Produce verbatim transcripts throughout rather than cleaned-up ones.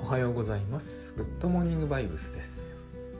おはようございます。グッドモーニングバイブスです。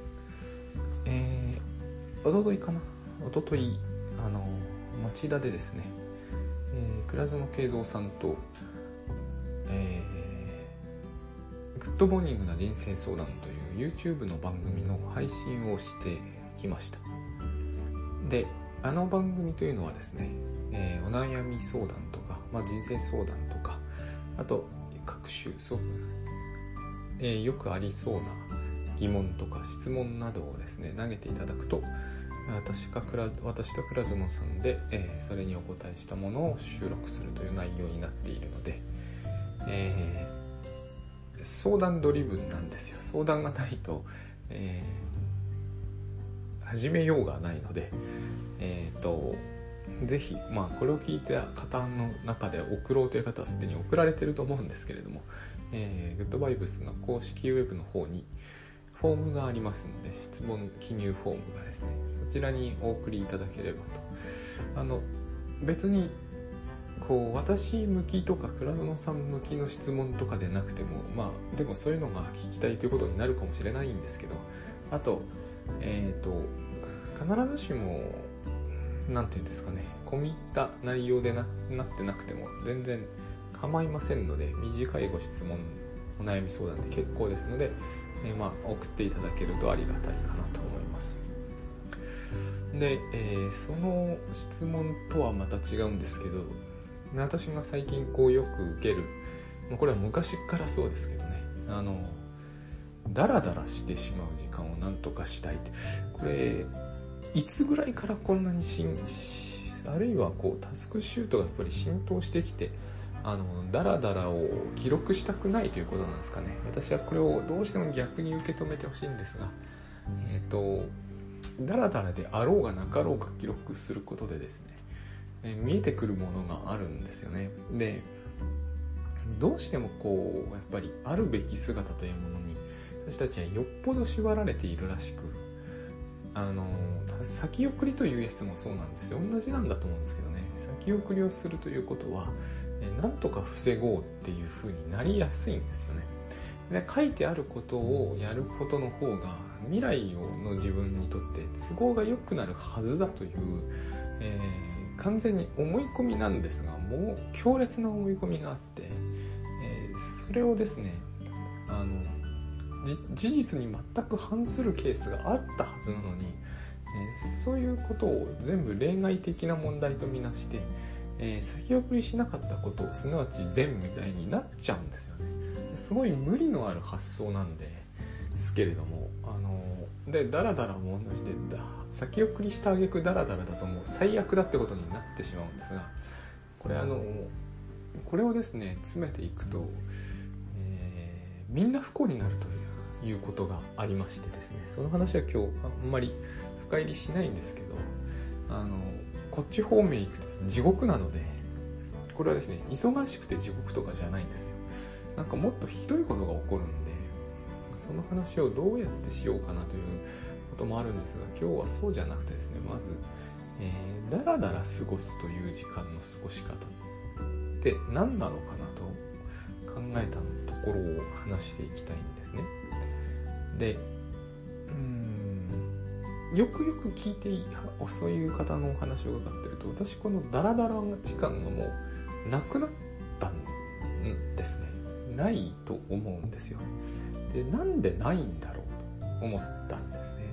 えー、おとといかなおとといあの町田でですね、えー、倉園慶三さんと、えー、グッドモーニングな人生相談という YouTube の番組の配信をしてきました。で、あの番組というのはですね、えー、お悩み相談とか、まあ、人生相談とか、あと各種そう、えー、よくありそうな疑問とか質問などをですね投げていただくと、私か私と倉園さんで、えー、それにお答えしたものを収録するという内容になっているので、えー、相談ドリブンなんですよ。相談がないと、えー、始めようがないので、えーとぜひ、まあ、これを聞いた方の中で送ろうという方はすでに送られていると思うんですけれども、えー、グッドバイブスの公式ウェブの方にフォームがありますので、質問記入フォームがですね、そちらにお送りいただければと。あの別にこう私向きとか倉園さん向きの質問とかでなくても、まあでもそういうのが聞きたいということになるかもしれないんですけど、あとえっ、ー、と必ずしもなんていうんですかね、込み入った内容で な, なってなくても全然構いませんので、短いご質問お悩み相談で結構ですので、えーまあ、送っていただけるとありがたいかなと思います。で、えー、その質問とはまた違うんですけど、私が最近こうよく受ける、まあ、これは昔からそうですけどね、あのダラダラしてしまう時間をなんとかしたいって、これいつぐらいからこんなにしんあるいはこうタスクシュートがやっぱり浸透してきて、あのダラダラを記録したくないということなんですかね。私はこれをどうしても逆に受け止めてほしいんですが、えっとダラダラであろうがなかろうが記録することでですね、え見えてくるものがあるんですよね。で、どうしてもこうやっぱりあるべき姿というものに私たちはよっぽど縛られているらしく、あの先送りというやつもそうなんですよ。同じなんだと思うんですけどね、先送りをするということはえなんとか防ごうっていう風になりやすいんですよね。で、書いてあることをやることの方が未来の自分にとって都合が良くなるはずだという、えー、完全に思い込みなんですが、もう強烈な思い込みがあって、えー、それをですね、あの事実に全く反するケースがあったはずなのに、えー、そういうことを全部例外的な問題とみなして、えー、先送りしなかったことをすなわち善みたいになっちゃうんですよね。すごい無理のある発想なんですけれども、あのー、でダラダラも同じで、先送りした挙句ダラダラだともう最悪だってことになってしまうんですが、これあのこれをですね詰めていくと、えー、みんな不幸になるということがありましてですね、その話は今日あんまり深入りしないんですけど、あのこっち方面行くと地獄なので、これはですね忙しくて地獄とかじゃないんですよ。なんかもっとひどいことが起こるんで、その話をどうやってしようかなということもあるんですが、今日はそうじゃなくてですね、まず、えー、だらだら過ごすという時間の過ごし方って何なのかなと考えたところを話していきたいんですね。で、うーんよくよく聞いていいそういう方のお話を伺ってると、私このダラダラ時間がもうなくなったんですね。ないと思うんですよ。で、なんでないんだろうと思ったんですね。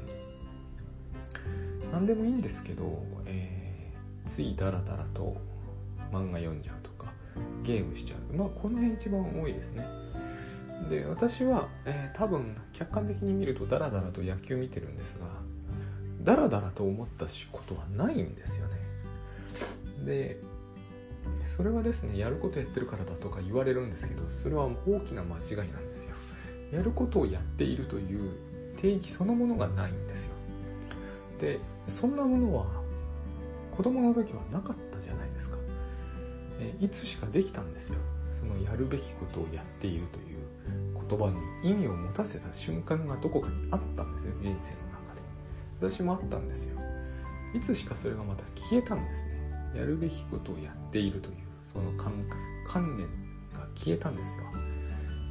なんでもいいんですけど、えー、ついダラダラと漫画読んじゃうとかゲームしちゃう、まあこの辺一番多いですね。で、私は、えー、多分客観的に見るとダラダラと野球見てるんですが、ダラダラと思ったことはないんですよね。で、それはですね、やることやってるからだとか言われるんですけど、それは大きな間違いなんですよ。やることをやっているという定義そのものがないんですよ。で、そんなものは子供の時はなかったじゃないですか。えいつしかできたんですよ。そのやるべきことをやっているという言葉に意味を持たせた瞬間がどこかにあったんですね、人生の中で。私もあったんですよ。いつしかそれがまた消えたんですね。やるべきことをやっているというその 観, 観念が消えたんですよ。えー、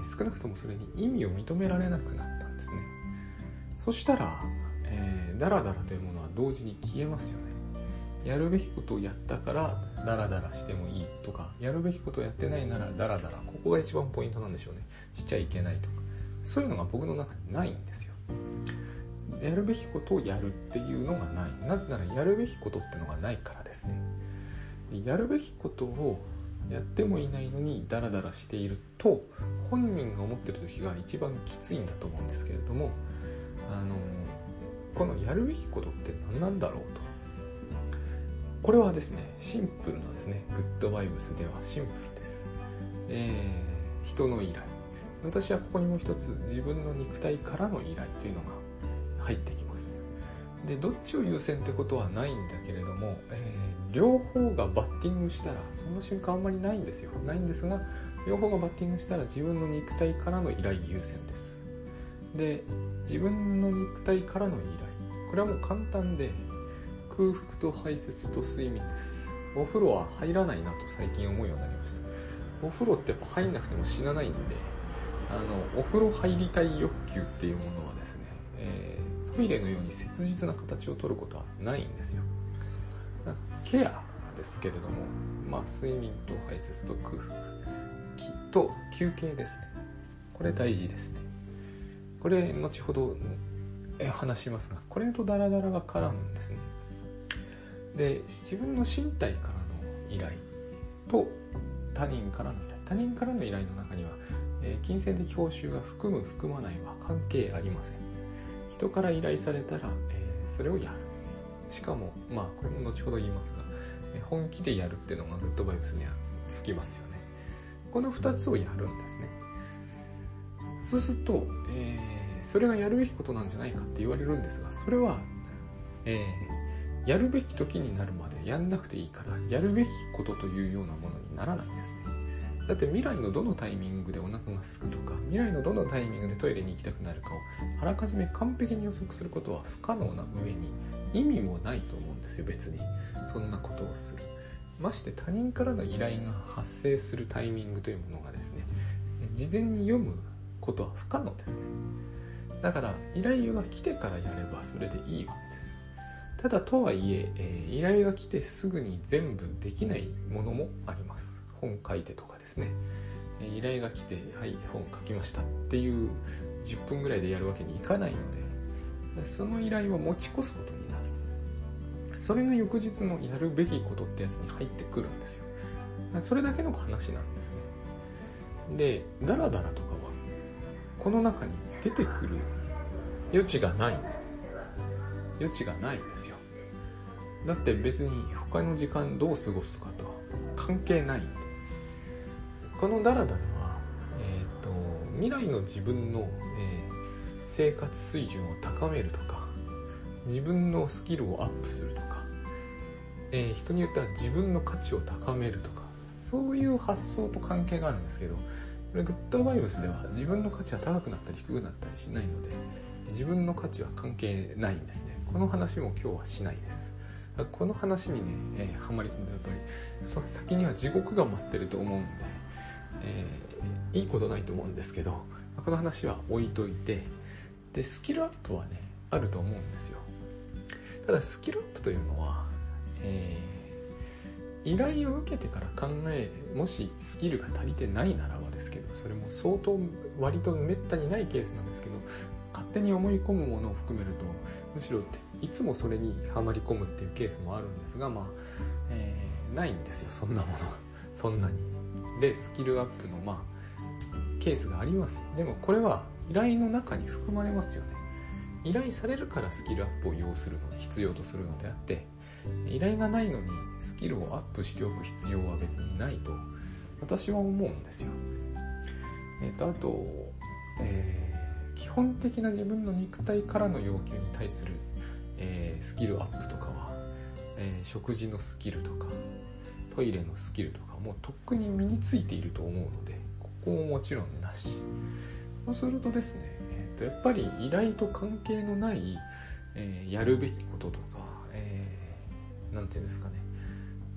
少なくともそれに意味を認められなくなったんですね。そしたら、えー、ダラダラというものは同時に消えますよね。やるべきことをやったからダラダラしてもいいとか、やるべきことをやってないならダラダラ、ここが一番ポイントなんでしょうね。しちゃいけないとか、そういうのが僕の中にないんですよ。やるべきことをやるっていうのがない。なぜならやるべきことってのがないからですね。やるべきことをやってもいないのにダラダラしていると、本人が思ってる時が一番きついんだと思うんですけれども、あのこのやるべきことって何なんだろうと。これはですね、シンプルなんですね。グッドバイブスではシンプルです。えー、人の依頼。私はここにもう一つ、自分の肉体からの依頼というのが入ってきます。で、どっちを優先ってことはないんだけれども、えー、両方がバッティングしたら、そんな瞬間あんまりないんですよ。ないんですが、両方がバッティングしたら自分の肉体からの依頼優先です。で、自分の肉体からの依頼。これはもう簡単で、空腹と排泄と睡眠です。お風呂は入らないなと最近思うようになりました。お風呂ってやっぱ入んなくても死なないんで、あのお風呂入りたい欲求っていうものはですね、えー、トイレのように切実な形を取ることはないんですよ。ケアですけれども、まあ睡眠と排泄と空腹と休憩ですね。これ大事ですね。これ後ほど話しますが、これとダラダラが絡むんですね。で、自分の身体からの依頼と他人からの依頼、他人からの依頼の中には、えー、金銭的報酬が含む含まないは関係ありません。人から依頼されたら、えー、それをやる。しかも、まあこれも後ほど言いますが、本気でやるっていうのがグッドバイブスにはつきますよね。このふたつをやるんですね。そうすると、えー、それがやるべきことなんじゃないかって言われるんですが、それは、えーやるべき時になるまでやんなくていいから、やるべきことというようなものにならないんですね。だって未来のどのタイミングでお腹が空くとか、未来のどのタイミングでトイレに行きたくなるかをあらかじめ完璧に予測することは不可能な上に意味もないと思うんですよ。別にそんなことをする。まして他人からの依頼が発生するタイミングというものがですね、事前に読むことは不可能ですね。だから依頼が来てからやればそれでいいわけです。ただとはいええー、依頼が来てすぐに全部できないものもあります。本書いてとかですね、えー、依頼が来てはい本書きましたっていうじゅっぷんぐらいでやるわけにいかないので、その依頼は持ち越すことになる。それが翌日のやるべきことってやつに入ってくるんですよ。それだけの話なんですね。で、ダラダラとかはこの中に出てくる余地がない余地がないんですよ。だって別に他の時間どう過ごすとかとは関係ないんで。このダラダラは、えーと、未来の自分の、えー、生活水準を高めるとか、自分のスキルをアップするとか、えー、人によっては自分の価値を高めるとか、そういう発想と関係があるんですけど、これグッドバイブスでは自分の価値は高くなったり低くなったりしないので、自分の価値は関係ないんですね。この話も今日はしないです。この話にね、えー、ハマり込んでやっぱりその先には地獄が待ってると思うんで、えー、いいことないと思うんですけど、この話は置いといて、でスキルアップはねあると思うんですよ。ただスキルアップというのは、えー、依頼を受けてから考え、もしスキルが足りてないならばですけど、それも相当割とめったにないケースなんですけど、勝手に思い込むものを含めると、むしろいつもそれにはまり込むっていうケースもあるんですが、まあ、えー、ないんですよ、そんなものそんなに。でスキルアップのまあケースがあります。でもこれは依頼の中に含まれますよね。依頼されるからスキルアップを要するの必要とするのであって、依頼がないのにスキルをアップしておく必要は別にないと私は思うんですよ。えっとあと、えー基本的な自分の肉体からの要求に対する、えー、スキルアップとかは、えー、食事のスキルとかトイレのスキルとかもとっくに身についていると思うので、ここももちろんなし。そうするとですね、えー、とやっぱり依頼と関係のない、えー、やるべきこととか、えー、なんていうんですかね、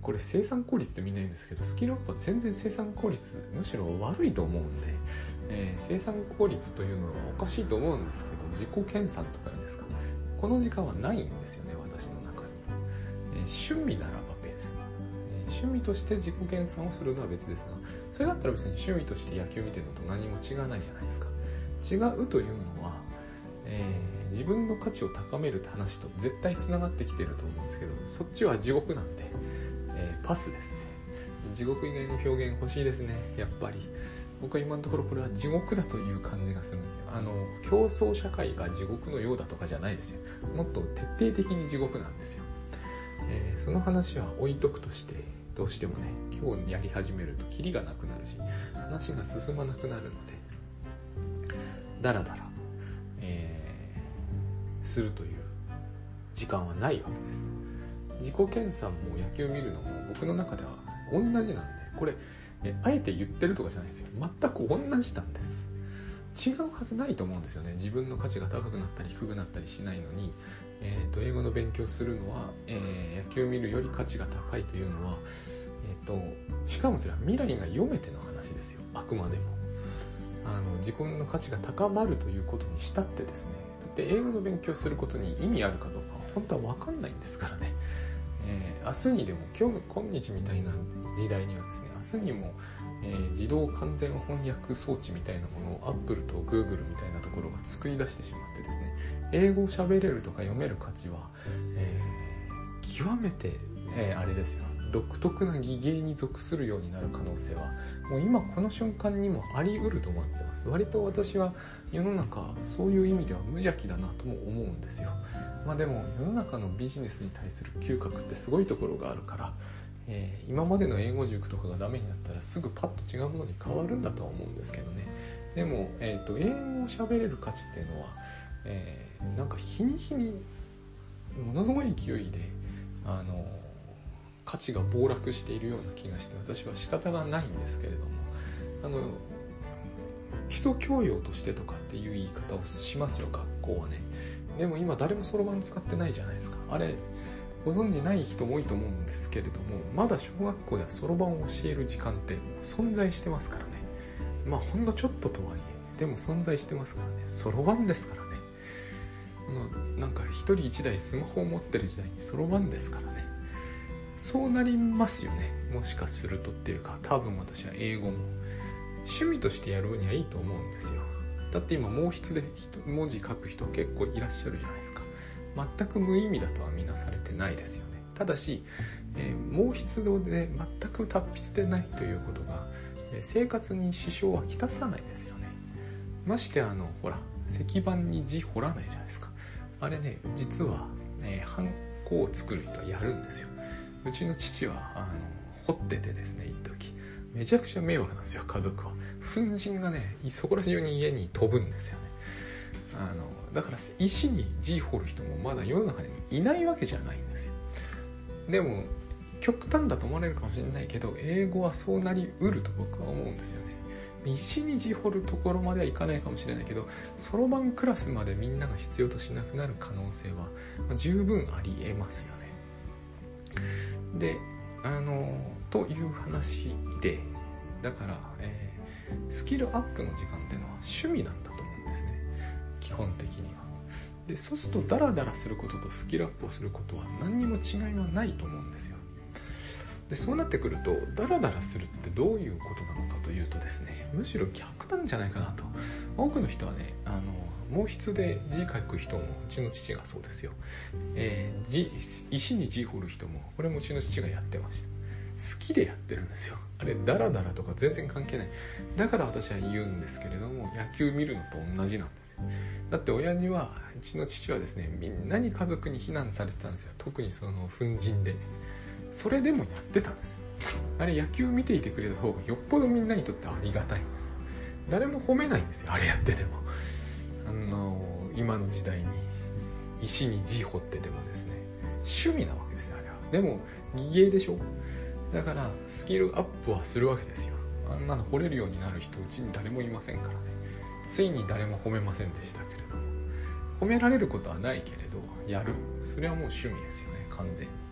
これ生産効率ってみんな言うんですけど、スキルアップは全然生産効率むしろ悪いと思うんで、えー、生産効率というのはおかしいと思うんですけど、自己研鑽とか言うんですか、この時間はないんですよね、私の中に。えー、趣味ならば別、えー、趣味として自己研鑽をするのは別ですが、それだったら別に趣味として野球見てるのと何も違わないじゃないですか。違うというのは、えー、自分の価値を高めるって話と絶対つながってきてると思うんですけど、そっちは地獄なんで、えー、パスですね。地獄以外の表現欲しいですね、やっぱり。僕は今のところこれは地獄だという感じがするんですよ。あの競争社会が地獄のようだとかじゃないですよ。もっと徹底的に地獄なんですよ。えー、その話は置いとくとして、どうしてもね今日やり始めるとキリがなくなるし、話が進まなくなるのでだらだら、えー、するという時間はないわけです。自己研鑽も野球見るのも僕の中では同じなんで、これえあえて言ってるとかじゃないですよ。全く同じなんです。違うはずないと思うんですよね。自分の価値が高くなったり低くなったりしないのに、えー、と英語の勉強するのは、えー、野球見るより価値が高いというのは、えー、としかもそれは未来が読めての話ですよ。あくまでもあの自分の価値が高まるということにしたってですね、だって英語の勉強することに意味あるかどうかは本当は分かんないんですからね。えー、明日にでも今日今日みたいな時代にはですね、明日にも、えー、自動完全翻訳装置みたいなものを Apple と Google みたいなところが作り出してしまってですね、英語を喋れるとか読める価値は、えー、極めて、えー、あれですよ、独特な技芸に属するようになる可能性はもう今この瞬間にもあり得ると思ってます。割と私は世の中そういう意味では無邪気だなとも思うんですよ。まあでも世の中のビジネスに対する嗅覚ってすごいところがあるから、えー、今までの英語塾とかがダメになったらすぐパッと違うものに変わるんだとは思うんですけどね。でも、えーと、英語を喋れる価値っていうのは、えー、なんか日に日にものすごい勢いであの価値が暴落しているような気がして、私は仕方がないんですけれども、あの基礎教養としてとかっていう言い方をしますよ、学校はね。でも今誰もそろばん使ってないじゃないですか。あれご存知ない人も多いと思うんですけれども、まだ小学校ではそろばんを教える時間ってもう存在してますからね。まあほんのちょっととはいえでも存在してますからね。そろばんですからね。あのなんか一人一台スマホを持ってる時代にそろばんですからね。そうなりますよね、もしかするとっていうか、多分私は英語も趣味としてやるにはいいと思うんですよ。だって今毛筆で文字書く人結構いらっしゃるじゃないですか。全く無意味だとは見なされてないですよね。ただし、えー、毛筆で全く達筆でないということが、えー、生活に支障はきたさないですよね。ましてあのほら石板に字彫らないじゃないですか。あれね、実は、えー、ハンコを作る人はやるんですよ。うちの父はあの彫っててですね、一時めちゃくちゃ迷惑なんですよ、家族は。粉塵がねそこら中に家に飛ぶんですよね。あのだから石に字彫る人もまだ世の中にいないわけじゃないんですよ。でも極端だと思われるかもしれないけど、英語はそうなりうると僕は思うんですよね。石に字彫るところまではいかないかもしれないけど、そろばんクラスまでみんなが必要としなくなる可能性は、まあ、十分ありえますよね。で、あのという話で、だから、えー、スキルアップの時間っていうのは趣味なんだと思うんですね、基本的には。で、そうするとダラダラすることとスキルアップをすることは何にも違いはないと思うんですよ。で、そうなってくるとダラダラするってどういうことなのかというとですね、むしろ逆なんじゃないかなと。多くの人はね、あの毛筆で字書く人もうちの父がそうですよ、えー、字石に字彫る人もこれもうちの父がやってました。好きでやってるんですよ。あれダラダラとか全然関係ない。だから私は言うんですけれども、野球見るのと同じなんですよ。だって親父は、うちの父はですね、みんなに家族に非難されてたんですよ。特にその粉塵で。それでもやってたんですよ。あれ野球見ていてくれた方がよっぽどみんなにとってありがたいんです。誰も褒めないんですよ、あれやってても。あの今の時代に石に字彫っててもですね、趣味なわけですよ、あれは。でも技芸でしょ。だからスキルアップはするわけですよ。あんなの掘れるようになる人うちに誰もいませんからね。ついに誰も褒めませんでしたけれども、褒められることはないけれどやる、それはもう趣味ですよね、完全に。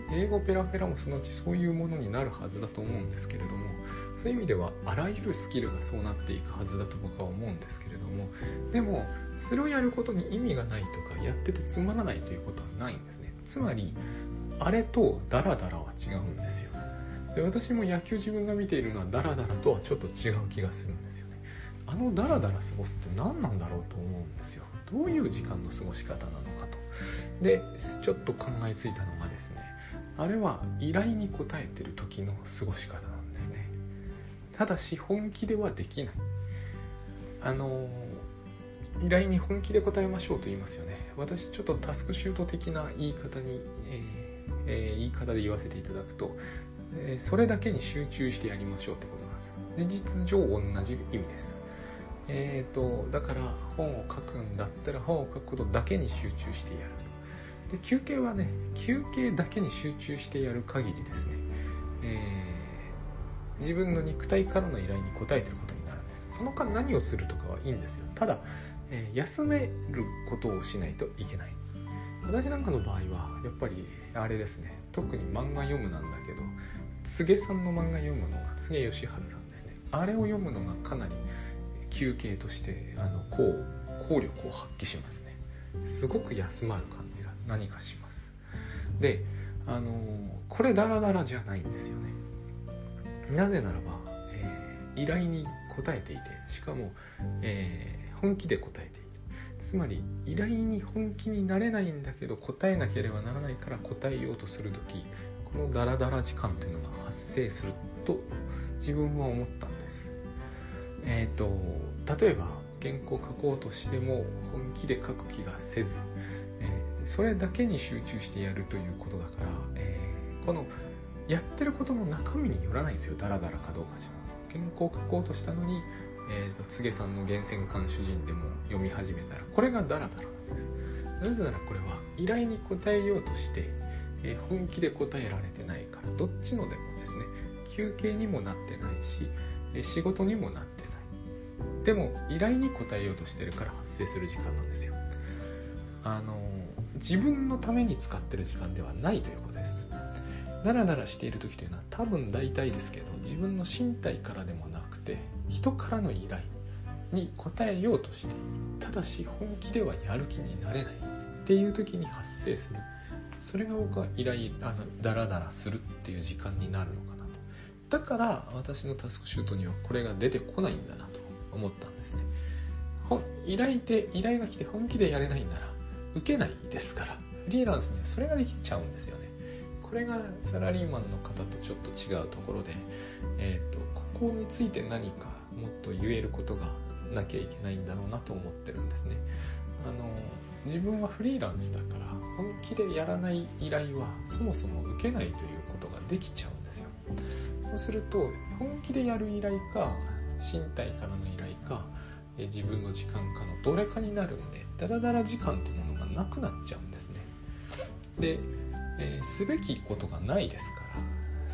英語ペラペラもそのうちそういうものになるはずだと思うんですけれども、そういう意味ではあらゆるスキルがそうなっていくはずだと僕は思うんですけれども、でもそれをやることに意味がないとか、やっててつまらないということはないんですね。つまりあれとダラダラは違うんですよ。で、私も野球自分が見ているのはダラダラとはちょっと違う気がするんですよね。あのダラダラ過ごすって何なんだろうと思うんですよ。どういう時間の過ごし方なのかと。で、ちょっと考えついたのがですね、あれは依頼に応えてる時の過ごし方なんですね。ただし本気ではできない。あの依頼に本気で応えましょうと言いますよね。私ちょっとタスクシュート的な言い方に、えーえー、言い方で言わせていただくと、えー、それだけに集中してやりましょうってことなんです。事実上同じ意味です。えーと、だから本を書くんだったら本を書くことだけに集中してやる。で、休憩はね、休憩だけに集中してやる限りですね、えー、自分の肉体からの依頼に応えてることになるんです。その間何をするとかはいいんですよ。ただ、えー、休めることをしないといけない。私なんかの場合はやっぱりあれですね、特に漫画読むなんだけど、柘植さんの漫画読むのが柘植義治さんですね。あれを読むのがかなり休憩としてあのこう効力を発揮しますね。すごく休まる感じが何かします。で、あのこれダラダラじゃないんですよね。なぜならば、えー、依頼に応えていて、しかも、えー、本気で応えている。つまり依頼に本気になれないんだけど答えなければならないから答えようとするとき、このダラダラ時間というのが発生すると自分は思ったんです。えーと、例えば原稿を書こうとしても本気で書く気がせず、えー、それだけに集中してやるということだから、えー、このやってることの中身によらないんですよ。ダラダラかどうかじゃ。原稿を書こうとしたのに、えーと、柘植さんの源泉館主人でも読み始めたら、これがダラダラなんです。なぜならこれは依頼に応えようとして、えー、本気で答えられてないから、どっちのでもですね、休憩にもなってないし、えー、仕事にもなってない。でも依頼に応えようとしてるから発生する時間なんですよ。あの自分のために使ってる時間ではないということです。ダラダラしている時というのは多分大体ですけど、自分の身体からでもなくて人からの依頼に応えようとしている。ただし本気ではやる気になれないっていう時に発生する。それが僕は依頼あのダラダラするっていう時間になるのかなと。だから私のタスクシュートにはこれが出てこないんだなと思ったんですね。依頼で依頼が来て本気でやれないんなら受けないですから、フリーランスにはそれができちゃうんですよね。これがサラリーマンの方とちょっと違うところで、えーと、ここについて何かもっと言えることがなきゃいけないんだろうなと思ってるんですね。あの自分はフリーランスだから本気でやらない依頼はそもそも受けないということができちゃうんですよ。そうすると本気でやる依頼か身体からの依頼か自分の時間かのどれかになるんで、ダラダラ時間というものがなくなっちゃうんですね。で、えー、すべきことがないですから、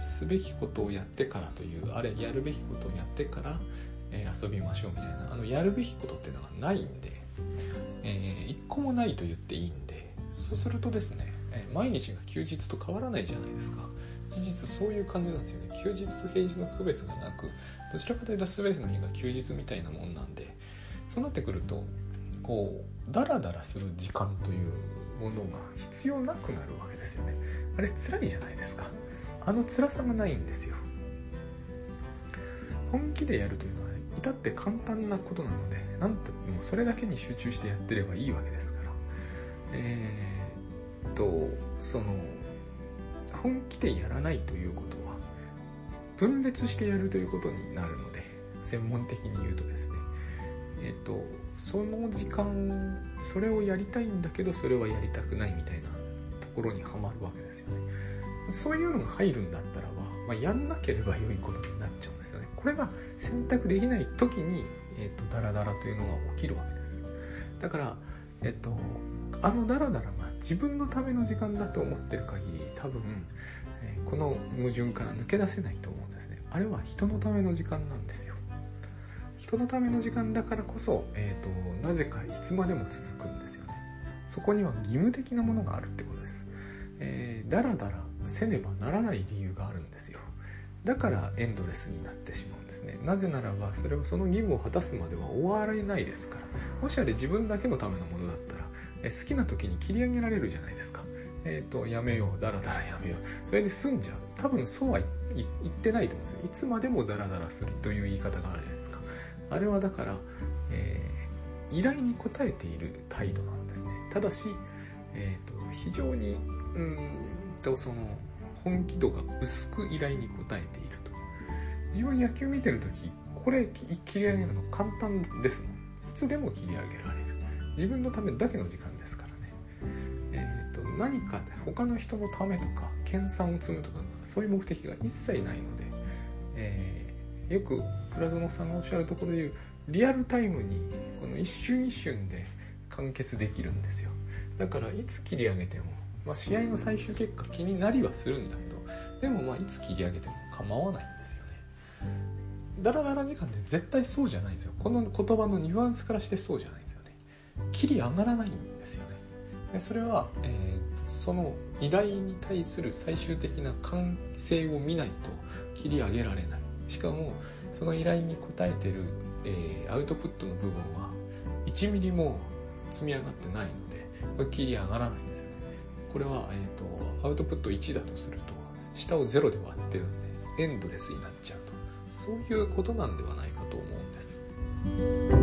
すべきことをやってからという、あれやるべきことをやってから、えー、遊びましょうみたいな、あのやるべきことっていうのがないんで、えー、一個もないと言っていいんで、そうするとですね、えー、毎日が休日と変わらないじゃないですか。事実そういう感じなんですよね。休日と平日の区別がなく、どちらかというと全ての日が休日みたいなもんなんで、そうなってくるとこうダラダラする時間というものが必要なくなるわけですよね。あれ辛いじゃないですか。あの辛さがないんですよ。本気でやるというのは、ね、至って簡単なことなので、なんとってもそれだけに集中してやってればいいわけですから、えー、っとその本気でやらないということは分裂してやるということになるので、専門的に言うとですね、えっとその時間それをやりたいんだけどそれはやりたくないみたいなところにはまるわけですよね。そういうのが入るんだったらば、まあ、やんなければ良いことになっちゃうんですよね。これが選択できない時に、えっとダラダラというのが起きるわけです。だからえっとあのダラダラが自分のための時間だと思ってる限り、多分、えー、この矛盾から抜け出せないと思うんですね。あれは人のための時間なんですよ。人のための時間だからこそ、えーと、なぜかいつまでも続くんですよね。そこには義務的なものがあるってことです。えー、だらだらせねばならない理由があるんですよ。だからエンドレスになってしまうんですね。なぜならばそれはその義務を果たすまでは終われないですから。もしあれ自分だけのためのものだったらえ好きな時に切り上げられるじゃないですか。えっとやめよう、だらだらやめよう、それで済んじゃう。多分そうは言ってないと思うんですよ。いつまでもだらだらするという言い方があるじゃないですか。あれはだから、えー、依頼に応えている態度なんですね。ただし、えー、と非常にうーんとその本気度が薄く依頼に応えていると。自分野球見てるとき、これ切り上げるの簡単ですもん。いつでも切り上げられる。自分のためだけの時間ですからね。えー、と何か他の人のためとか研鑽を積むとかそういう目的が一切ないので、えー、よく倉園さんがおっしゃるところでいうリアルタイムにこの一瞬一瞬で完結できるんですよ。だからいつ切り上げても、まあ、試合の最終結果気になりはするんだけど、でもまあいつ切り上げても構わないんですよね。ダラダラ時間って絶対そうじゃないんですよ。この言葉のニュアンスからしてそうじゃないんですよね。切り上がらないんですよね。でそれは、えー、その依頼に対する最終的な完成を見ないと切り上げられない。しかもその依頼に応えている、えー、アウトプットの部分はいちミリも積み上がってないのでこれ切り上がらないんですよね。これは、えーと、アウトプットいちだとすると下をゼロで割ってるんでエンドレスになっちゃうと、そういうことなんではないかと思うんです。